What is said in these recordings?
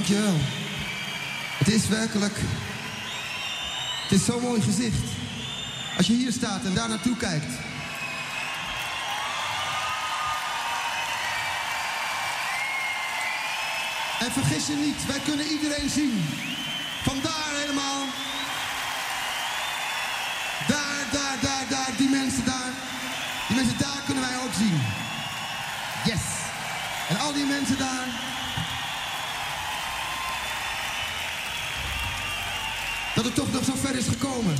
Dankjewel. Het is werkelijk... Het is zo'n mooi gezicht. Als je hier staat en daar naartoe kijkt. En vergis je niet, wij kunnen iedereen zien. Vandaar helemaal. Daar, die mensen daar. Die mensen daar kunnen wij ook zien. Yes. En al die mensen daar. Dat het toch nog zo ver is gekomen.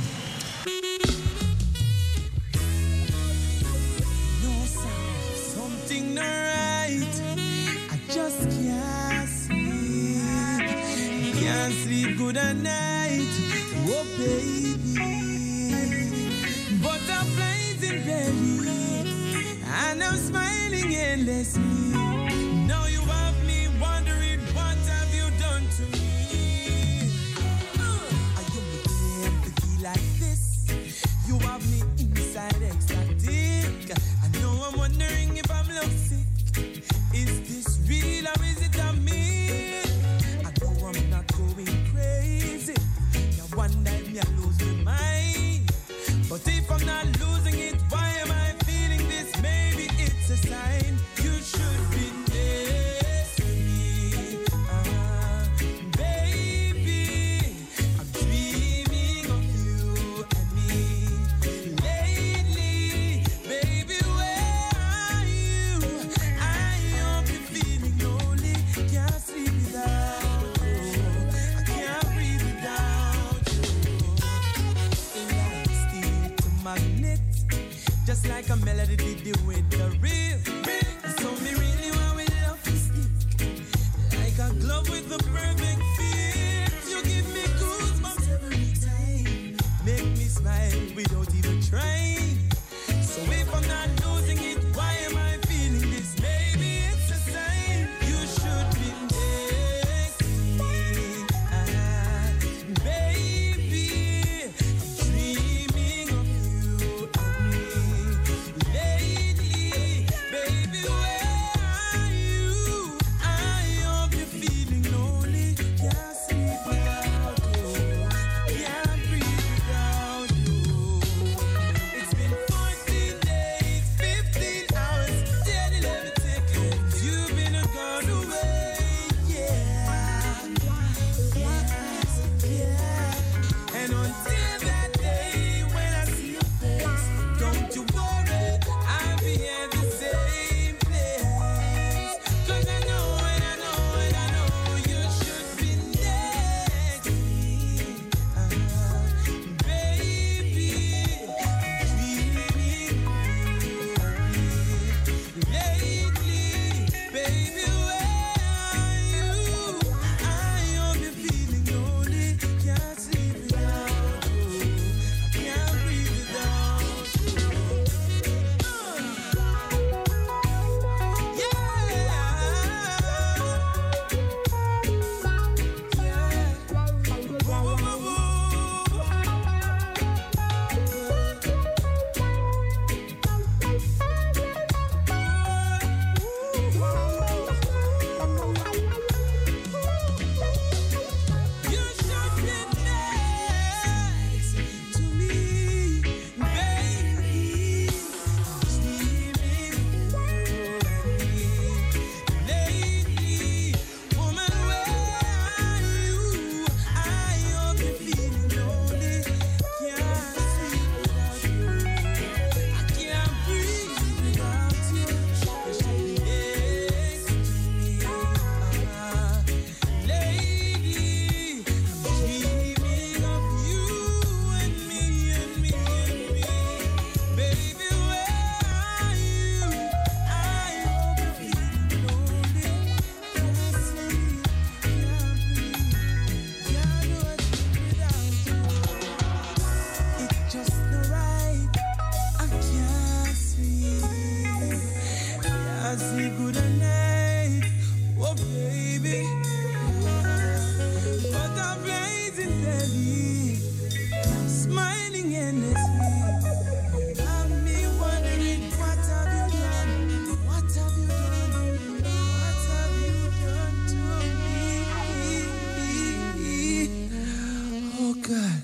No sound, something not right. I just can't sleep. Can't sleep good at night. Oh baby. Butterflies in belly. And I'm smiling endlessly. Now you have me wondering what have you done to me. Like this, you have me inside ecstatic. I know I'm wondering if I'm lovesick. Is this real or is it a me? I know I'm not going crazy. Now one day me I lose my mind. But if I'm not losing it, why am I feeling this? Maybe it's a sign you should God.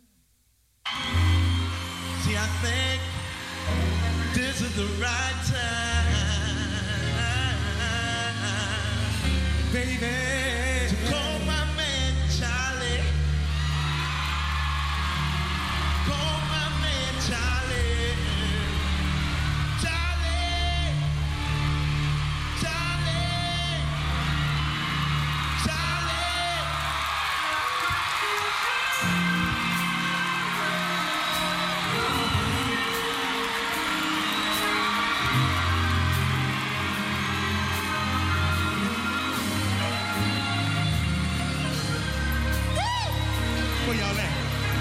See, I think this is the right time, baby, to call my man Charlie. Call my man Charlie. Charlie. Charlie. Charlie. Where y'all at?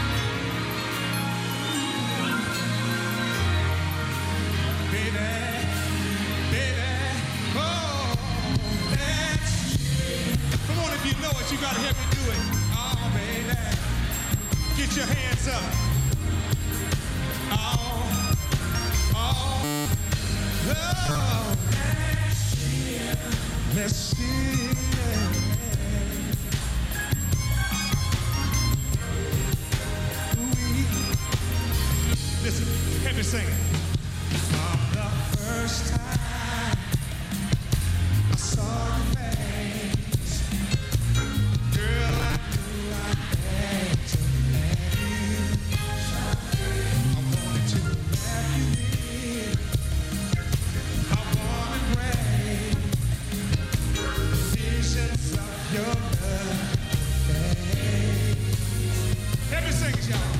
Baby, baby, oh, that's. Come on, if you know it, you gotta help me do it. Oh, baby, get your hands up. Oh, oh, oh. Let's see. Listen, help me sing it. From the first time I saw your face, girl, I knew I had to have you. I wanted to wrap you in my warm embrace. Visions of your love face. Help me sing it, y'all.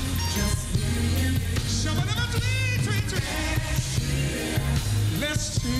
Let's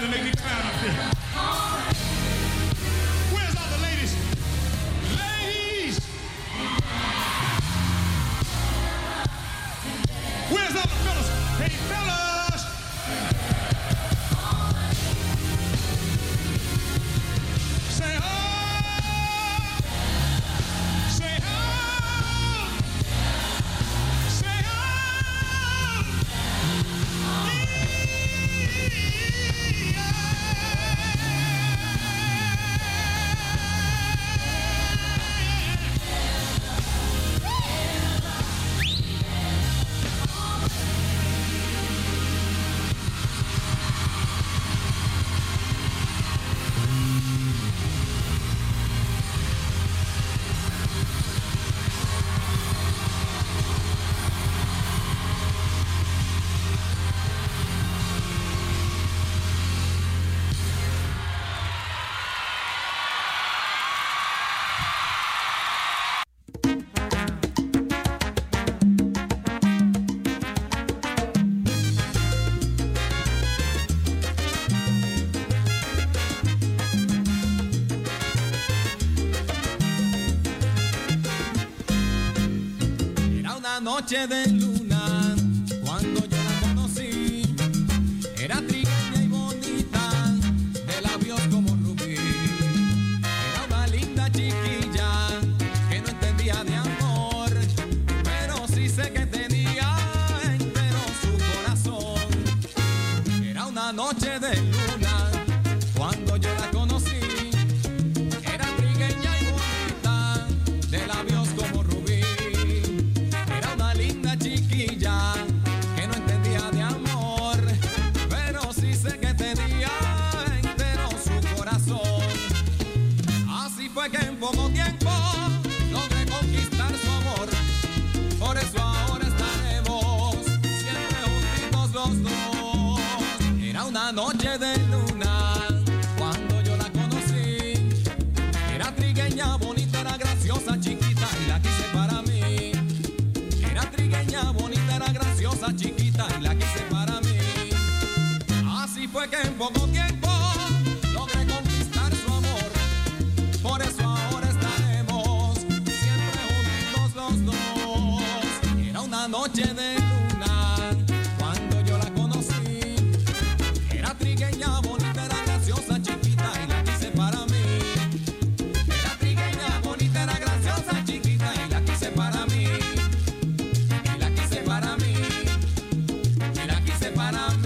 better make it clown up here. Where's all the ladies? Ladies! Where's all the fellas? Hey, fellas! Say oh! Say oh! Say oh! Noche de luna, cuando yo la conocí, era trigueña y bonita, de labios como rubí. Era una linda chiquilla que no entendía de amor, pero sí sé que tenía entero su corazón. Era una noche de luna, cuando yo la conocí, era trigueña y bonita, de labios como rubí. Chiquilla que no entendía de amor, pero sí sé que tenía entero su corazón. Así fue que en poco tiempo logré conquistar su amor. Por eso ahora estaremos siempre juntitos los dos. Era una noche de luna cuando yo la conocí. Era trigueña, bonita, era graciosa, chiquita y la quise para mí. Bonita, era graciosa, chiquita y la quise para mí. Así fue que en poco tiempo logré conquistar su amor. Por eso ahora estaremos siempre juntos los dos. Era una noche de luna cuando yo la conocí. Era trigueña, bonita, era graciosa, chiquita y la quise para mí. Era trigueña, bonita, era graciosa, chiquita y la quise para mí. Para mí, y la quise para mí.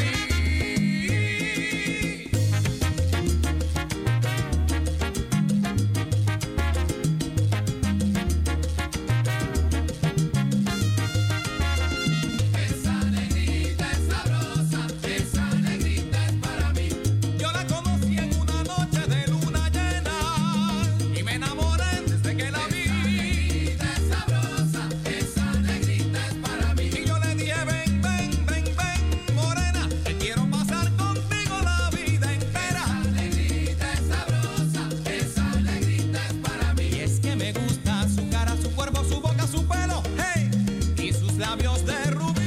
Esa negrita es sabrosa, esa negrita es para mí. Yo la conocí en una noche de luna llena y me enamoré desde que la vi. Esa negrita es sabrosa, esa negrita es para mí. Y yo le dije, ven, ven, ven, ven, morena, que quiero pasar contigo la vida entera. Esa negrita es sabrosa, esa negrita es para mí. Y es que me gusta su cara, su cuerpo, su boca, su pelo, hey, y sus labios de rubí.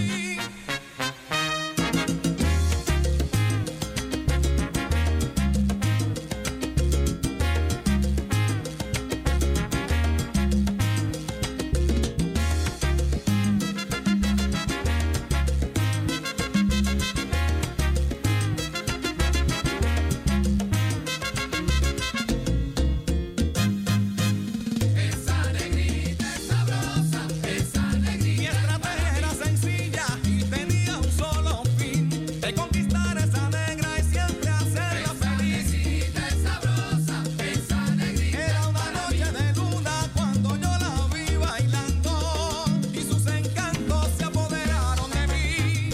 Esa negrita es sabrosa, esa negrita. Mi estrategia era sencilla y tenía un solo fin, de conquistar a esa negra y siempre hacerla feliz. Esa negrita es sabrosa, esa negrita. Era una noche de luna cuando yo la vi bailando y sus encantos se apoderaron de mí.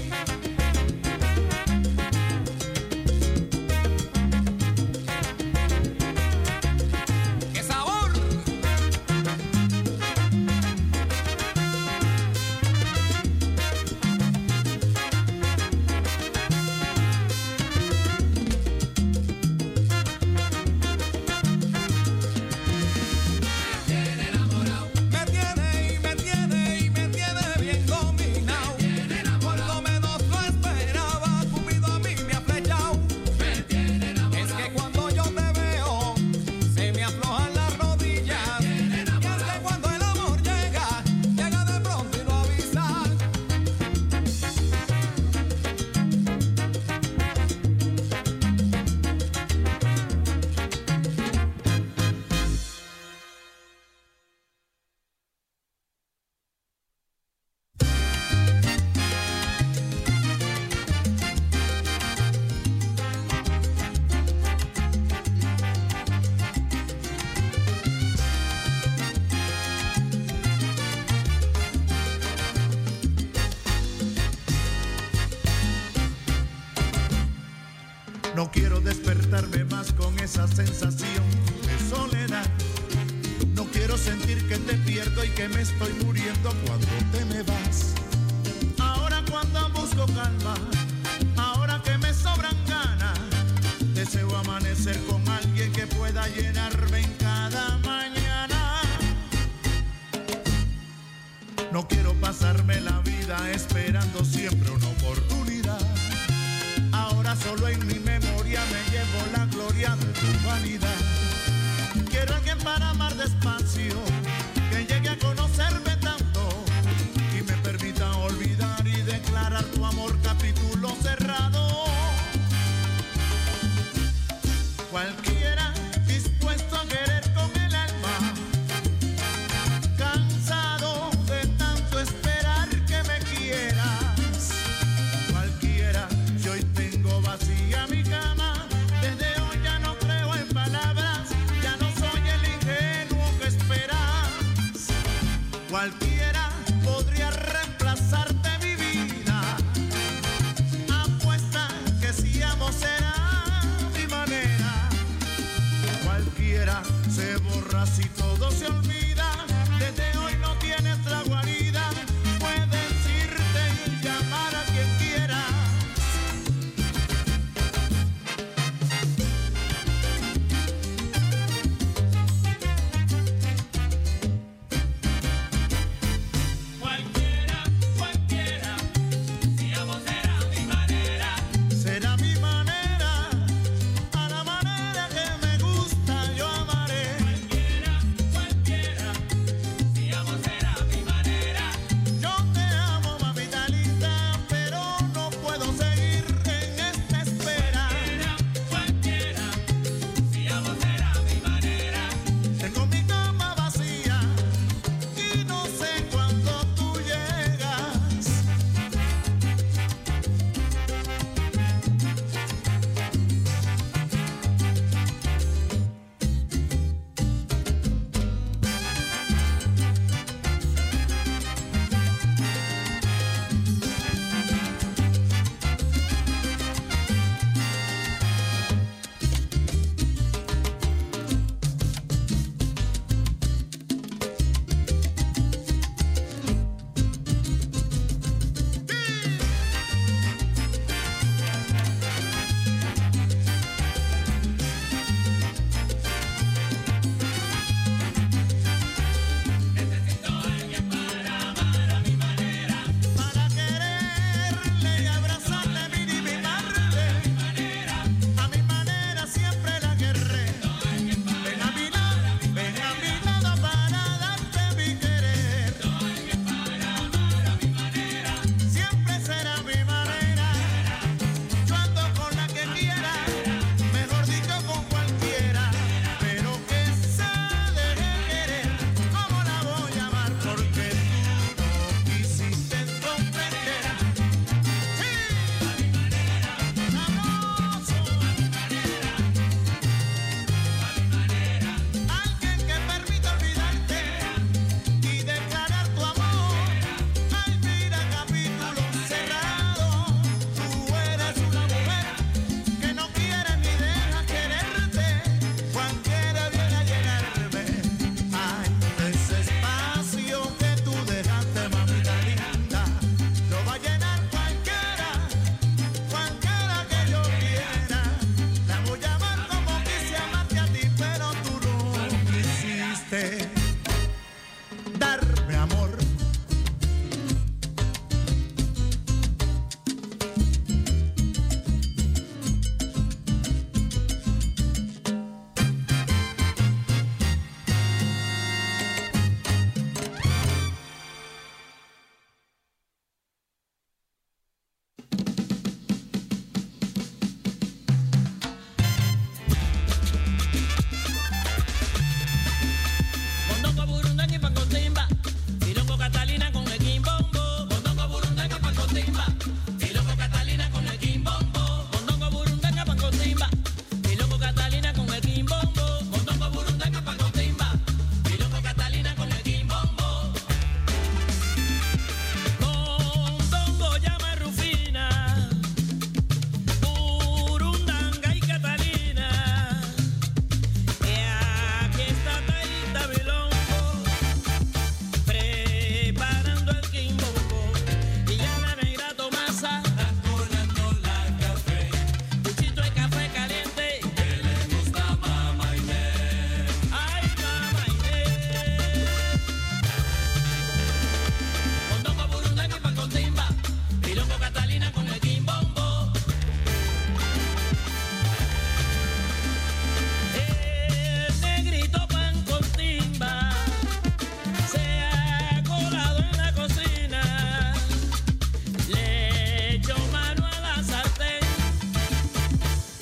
¡Qué sabor! No quiero despertarme más con esa sensación de soledad. No quiero sentir que te pierdo y que me estoy muriendo cuando te me vas. Ahora cuando busco calma, ahora que me sobran ganas, deseo amanecer con alguien que pueda llenarme en cada mañana. No quiero pasarme la vida esperando siempre una oportunidad. Ahora solo en mi memoria me llevo la gloria de tu vanidad. Quiero alguien para amar despacio, que llegue a conocerme tanto y me permita olvidar y declarar tu amor capítulo cerrado. Cualquiera dispuesto a querer con el alma, cansado de tanto esperar que me quieras. Cualquiera, si hoy tengo vacía mi cama, desde hoy ya no creo en palabras, ya no soy el ingenuo que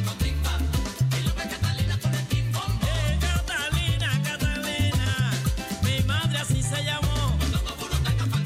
Catalina, mi madre así se llamó.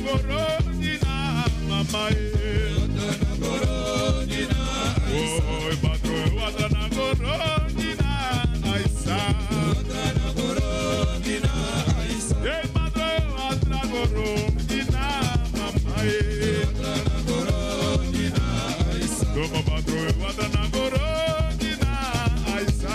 goronina, mamá. Oi, patrão, watana goronina, aisa. Ei, patrão, watana goronina, mamá. Toma, patrão, watana goronina, aisa.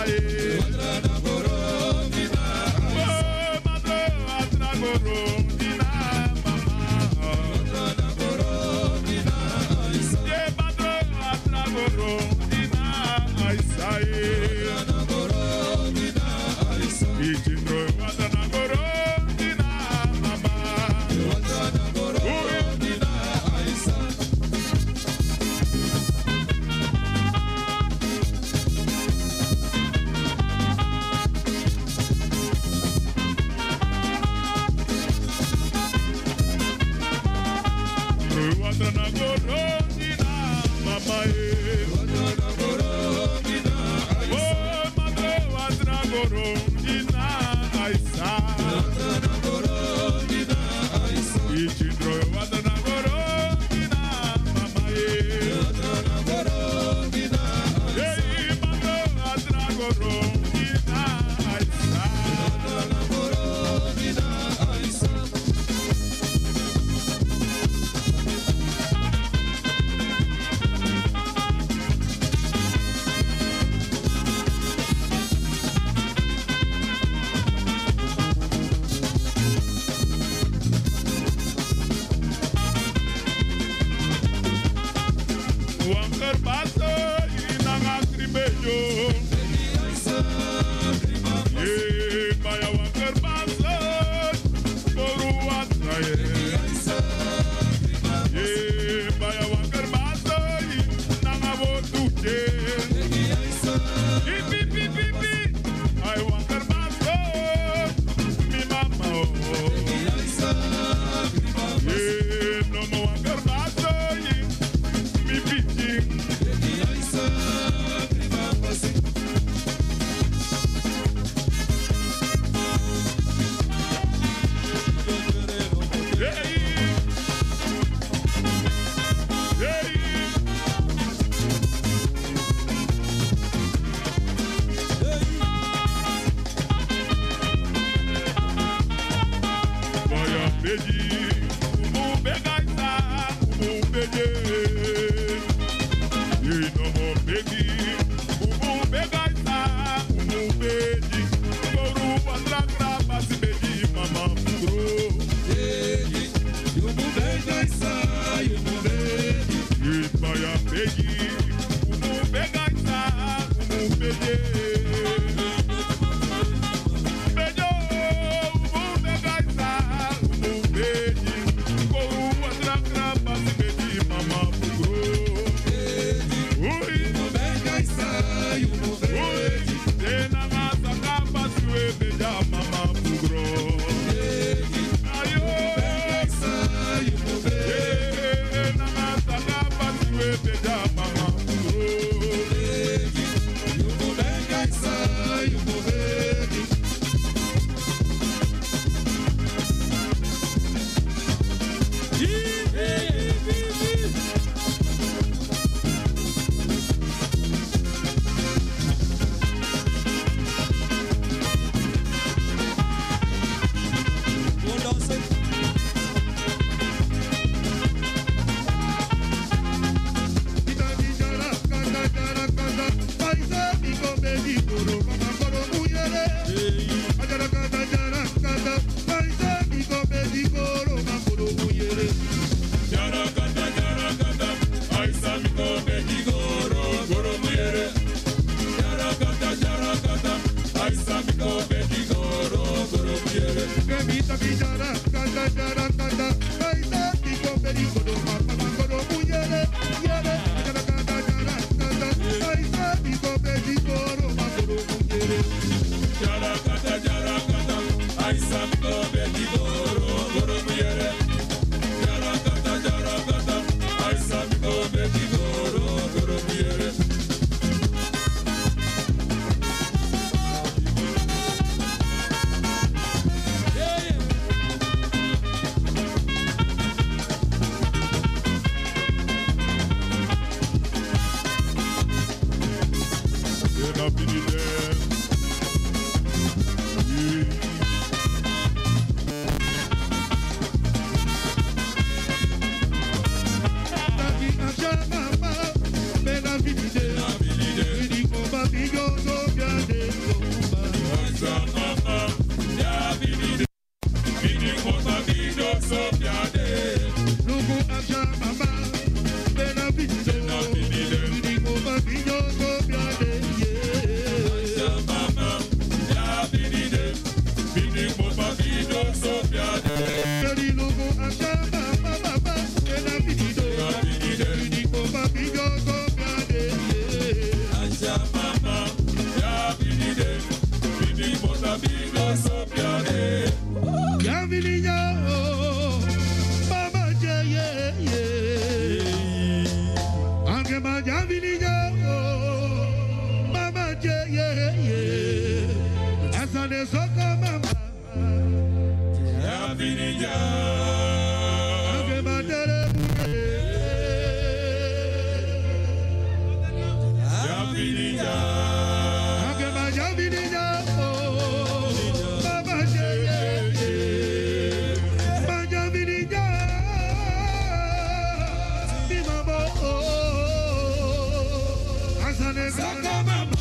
Saka mama.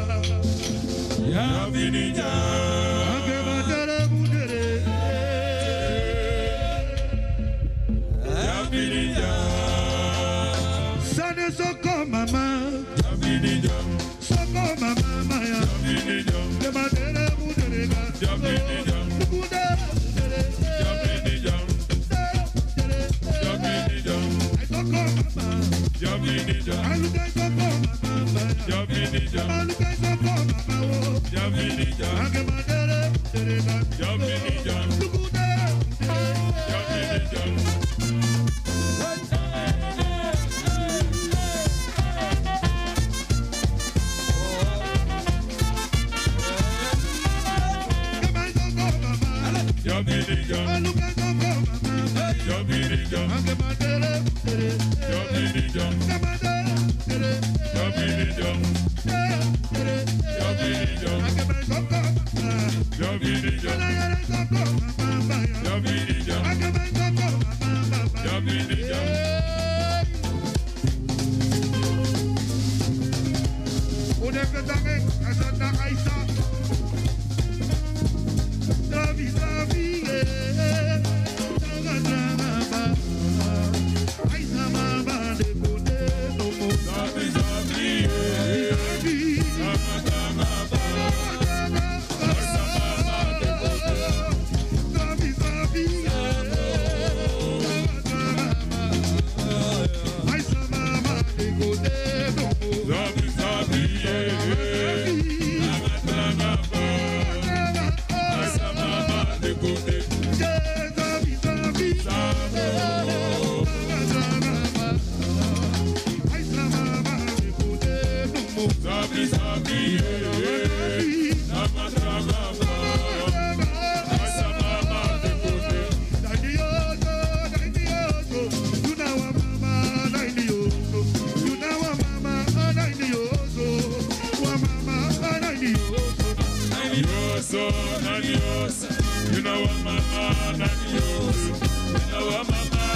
Ya vinija. Ake matere mudere. Ya vinija. Sane soko mama. Ya vinija. Soko mama maya. Ya vinija. Ake matere mudere. Ya vinija. You know what, mama,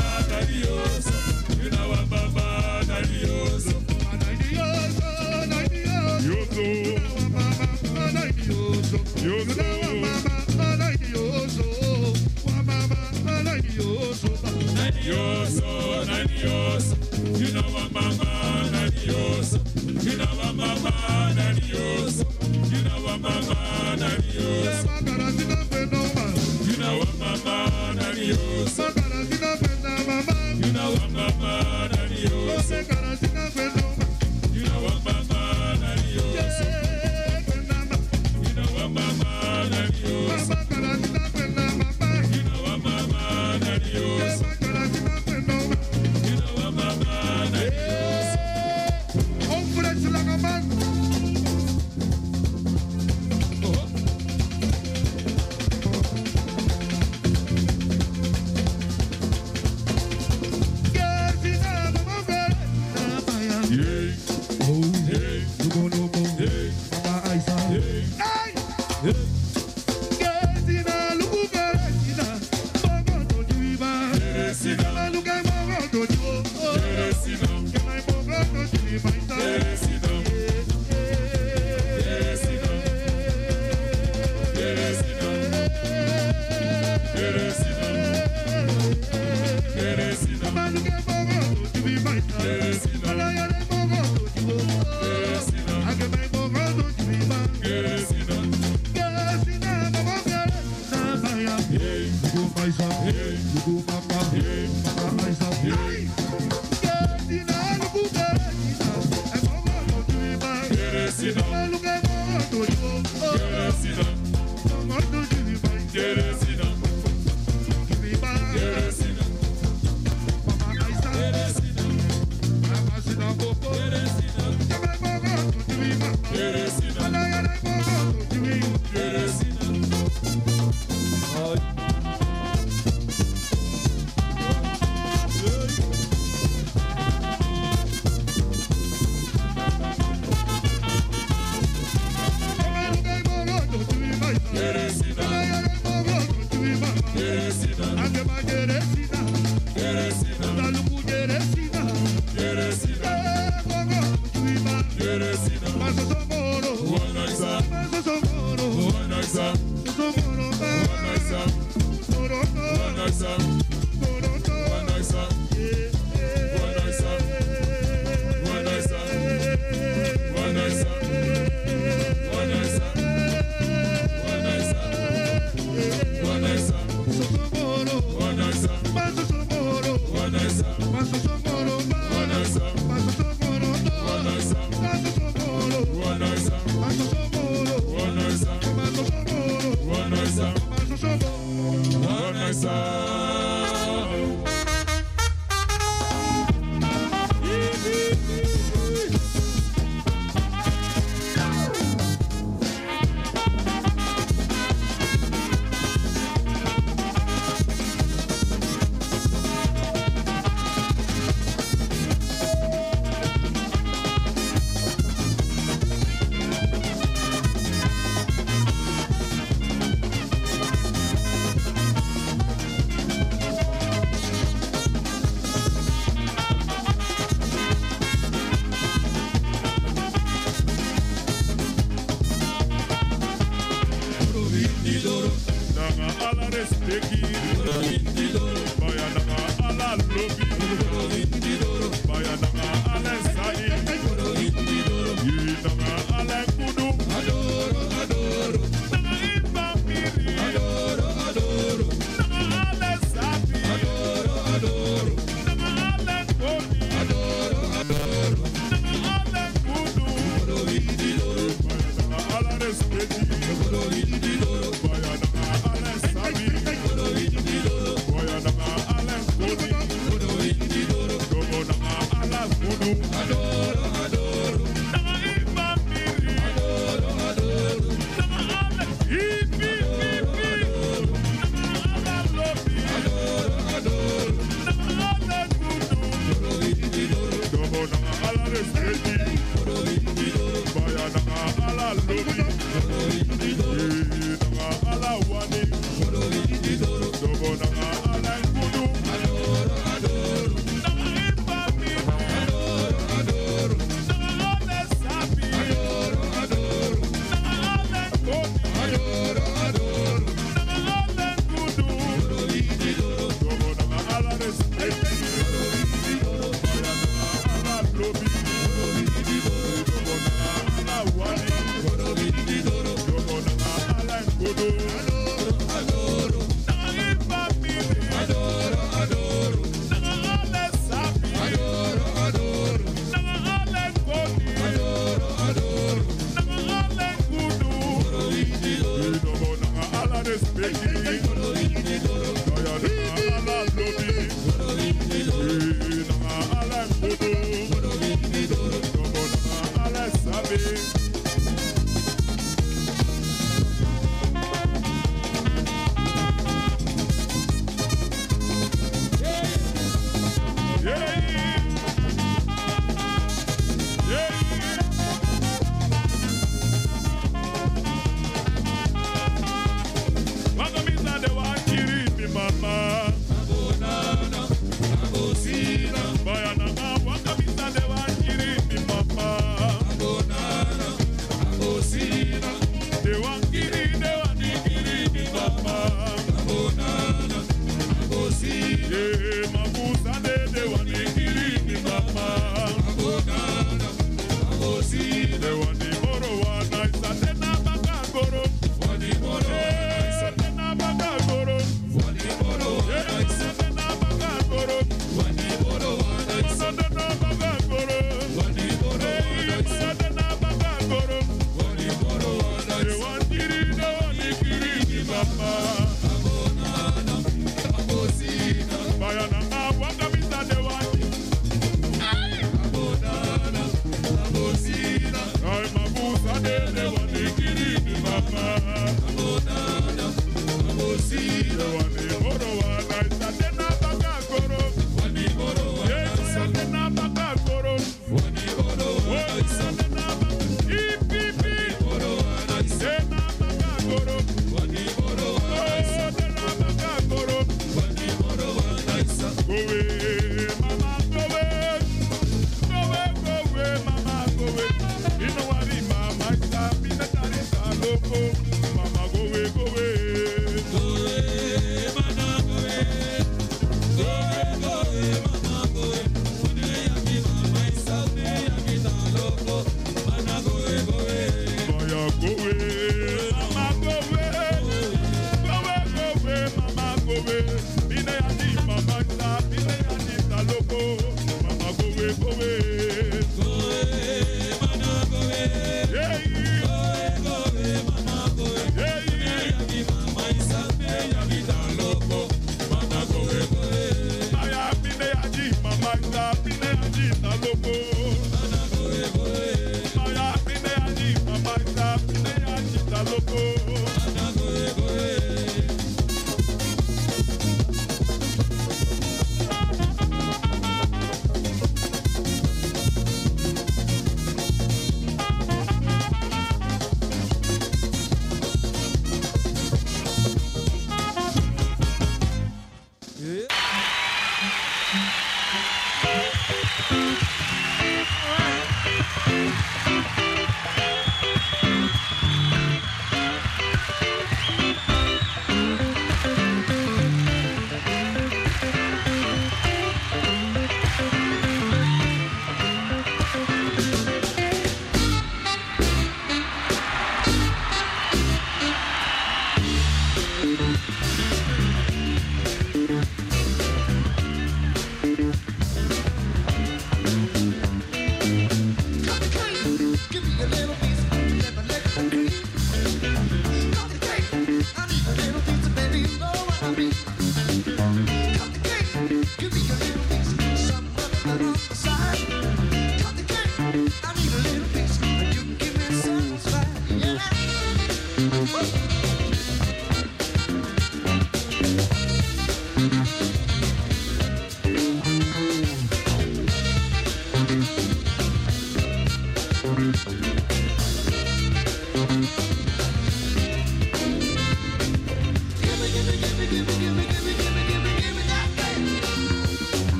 loco, mama go away, go away. Go away, mama go away. Yeah, go away, mama go away. Yeah, mama is a me, ya vida loco, mama go away, go away. Maya pine aji, mama is a pine aji, ta loco. Mama go away, go away. Maya pine aji, mama is a pine aji, ta loco. Mama go away, go away.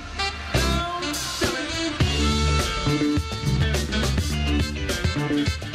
Got to cut it down.